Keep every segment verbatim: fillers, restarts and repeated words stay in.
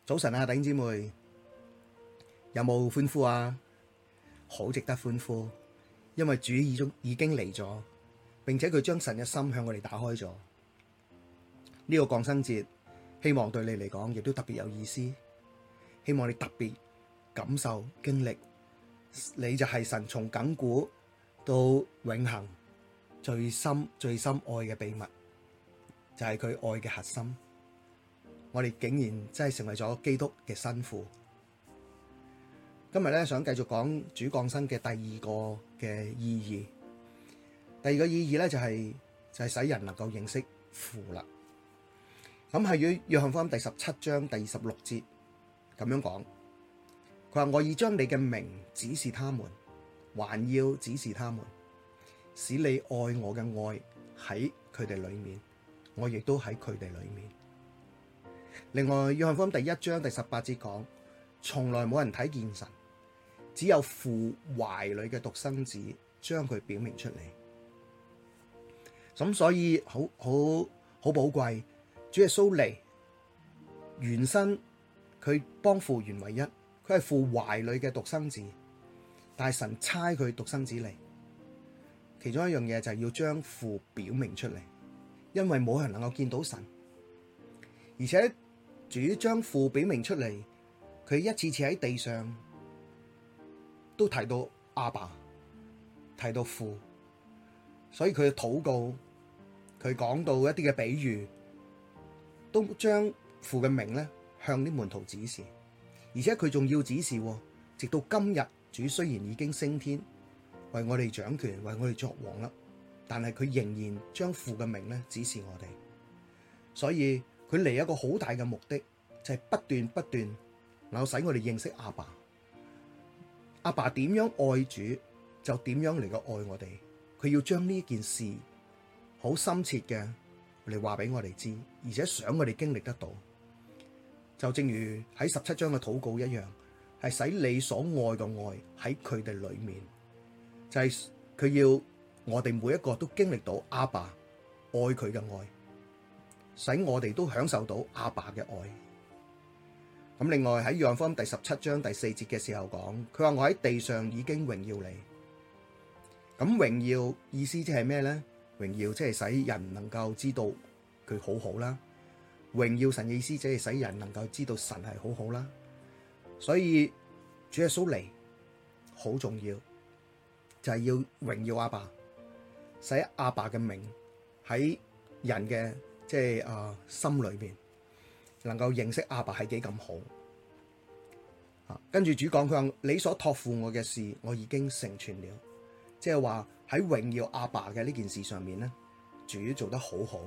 早晨啊，弟兄姊妹，有冇歡呼啊？好值得歡呼，因為主已經已經嚟咗，並且佢將神嘅心向我哋打開咗。呢個降生節，希望對你嚟講亦都特別有意思。希望你特別感受經歷，你就係神從亙古到永恆最深最深愛嘅秘密，就係佢愛嘅核心。我哋竟然真係成為咗基督嘅新婦。今日咧想繼續講主降生嘅第二個嘅意義。第二個意義咧就係、是、就係、是、使人能夠認識父啦。咁係約約翰福音第十七章第二十六節咁樣講，佢話我已將你嘅名指示他們，還要指示他們，使你愛我嘅愛喺佢哋裡面，我亦都喺佢哋裡面。另外，約翰福音第一章第十八節講，從來冇人睇見神，只有父懷裡嘅獨生子將佢表明出嚟。咁所以好好好寶貴，主耶穌嚟，原身佢幫父原為一，佢係父懷裡嘅獨生子，但係神差佢獨生子嚟，其中一樣嘢就係要將父表明出嚟，因為冇人能夠見到神，而且主將父表明出嚟，佢一次次喺地上都提到阿爸，提到父，所以佢嘅禱告，佢講到一啲嘅比喻，都將父嘅名咧向啲門徒指示，而且佢仲要指示，直到今日，主雖然已經升天，為我哋掌權，為我哋作王啦，但係佢仍然將父嘅名咧指示我哋，所以佢嚟一個好大嘅目的，就係不斷不斷能夠使我哋認識阿爸。阿爸點樣愛主，就點樣嚟個愛我哋。佢要將呢件事好深切嘅嚟話俾我哋知，而且想我哋經歷得到。就正如喺十七章嘅禱告一樣，係使你所愛嘅愛喺佢哋裏面，就係佢要我哋每一個都經歷到阿爸愛佢嘅愛，使我哋都享受到阿爸嘅愛。咁另外喺約翰福音第十七章第四節嘅時候講，佢話我喺地上已經榮耀你。咁榮耀意思即係咩呢？榮耀即係使人能夠知道佢好好啦。榮耀神嘅意思即係使人能夠知道神係好好啦。所以主耶穌嚟好重要，就係要榮耀阿爸，使阿爸嘅名喺人嘅即係啊心裏邊，能夠認識阿爸係幾咁好。啊，跟住主講，佢話你所託付我嘅事，我已經成全了。即係話喺榮耀阿爸嘅呢件事上面咧，主做得好好。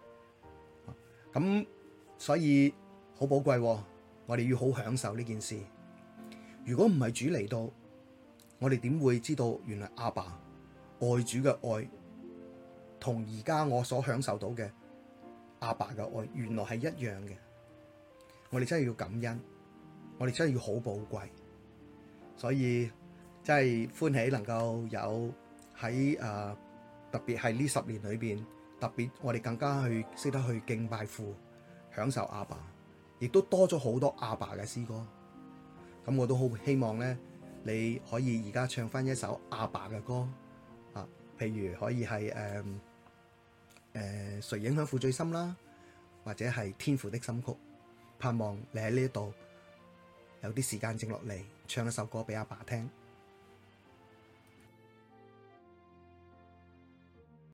咁所以好寶貴，我哋要好享受呢件事。如果唔係主嚟到，我哋點會知道原來阿爸愛主嘅愛，同而家我所享受到嘅阿爸嘅愛，原來係一樣嘅。我哋真係要感恩，我哋真係要好寶貴，所以真係歡喜能夠有喺誒、呃、特別係呢十年裏邊，特別我哋更加去識得去敬拜父，享受阿爸，亦都多咗好多阿爸嘅詩歌。咁我都好希望咧，你可以而家唱翻一首阿爸嘅歌啊，譬如可以係誒誒誰影響父最深啦，或者係天父的心曲。盼望你喺呢度有啲時間靜落嚟，唱一首歌俾阿爸聽。